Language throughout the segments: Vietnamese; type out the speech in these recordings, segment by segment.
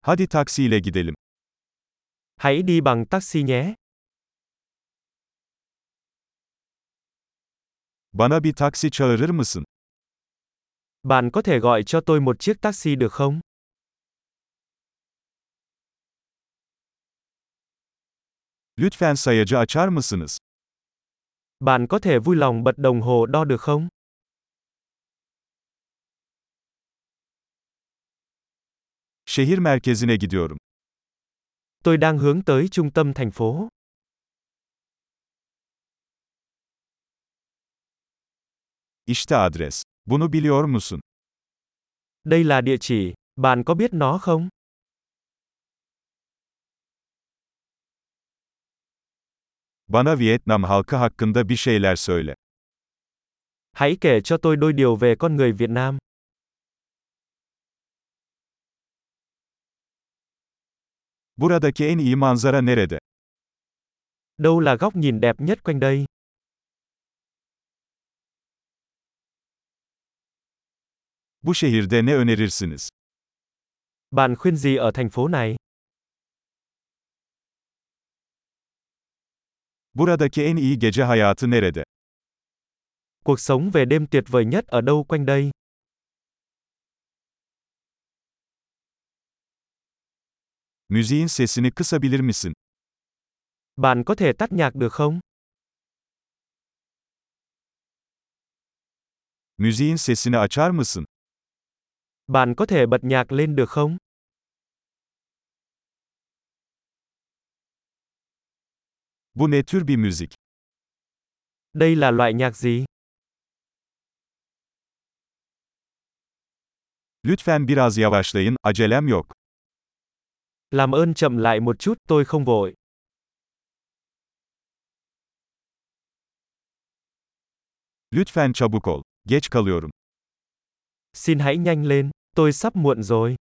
Hadi taksiyle gidelim. Hãy đi bằng taxi nhé. Bana bir taksi çağırır mısın? Bạn có thể gọi cho tôi một chiếc taxi được không? Lütfen sayacı açar mısınız? Bạn có thể vui lòng bật đồng hồ đo được không? Şehir merkezine gidiyorum. Tôi đang hướng tới trung tâm thành phố. İşte adres. Bunu biliyor musun? Đây là địa chỉ. Bạn có biết nó không? Bana Vietnam halkı hakkında bir şeyler söyle. Hãy kể cho tôi đôi điều về con người Việt Nam. Buradaki en iyi manzara nerede? Đâu là góc nhìn đẹp nhất quanh đây? Bu şehirde ne önerirsiniz? Bạn khuyên gì ở thành phố này? Buradaki en iyi gece hayatı nerede? Cuộc sống về đêm tuyệt vời nhất ở đâu quanh đây? Müziğin sesini kısabilir misin? Bạn có thể tắt nhạc được không? Müziğin sesini açar mısın? Bạn có thể bật nhạc lên được không? Bu ne tür bir müzik? Đây là loại nhạc gì? Lütfen biraz yavaşlayın, acelem yok. Làm ơn chậm lại một chút, tôi không vội. Lütfen çabuk ol. Geç kalıyorum. Xin hãy nhanh lên, tôi sắp muộn rồi.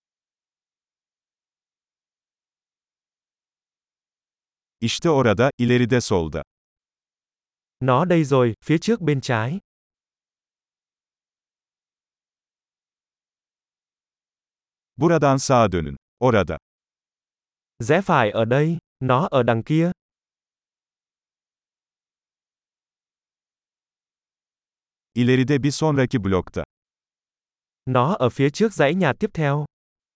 İşte orada, ileride solda. Nó đây rồi, phía trước bên trái. Buradan sağa dönün. Orada. Rẽ phải ở đây, nó ở đằng kia. İleride bir sonraki blokta. Nó ở phía trước dãy nhà tiếp theo.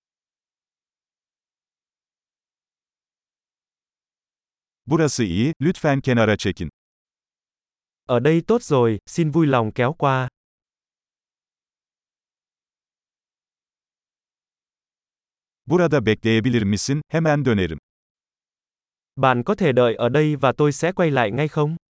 Burası iyi, lütfen kenara çekin. Ở đây tốt rồi, xin vui lòng kéo qua. Burada bekleyebilir misin? Hemen dönerim. Bạn có thể đợi ở đây và tôi sẽ quay lại ngay không?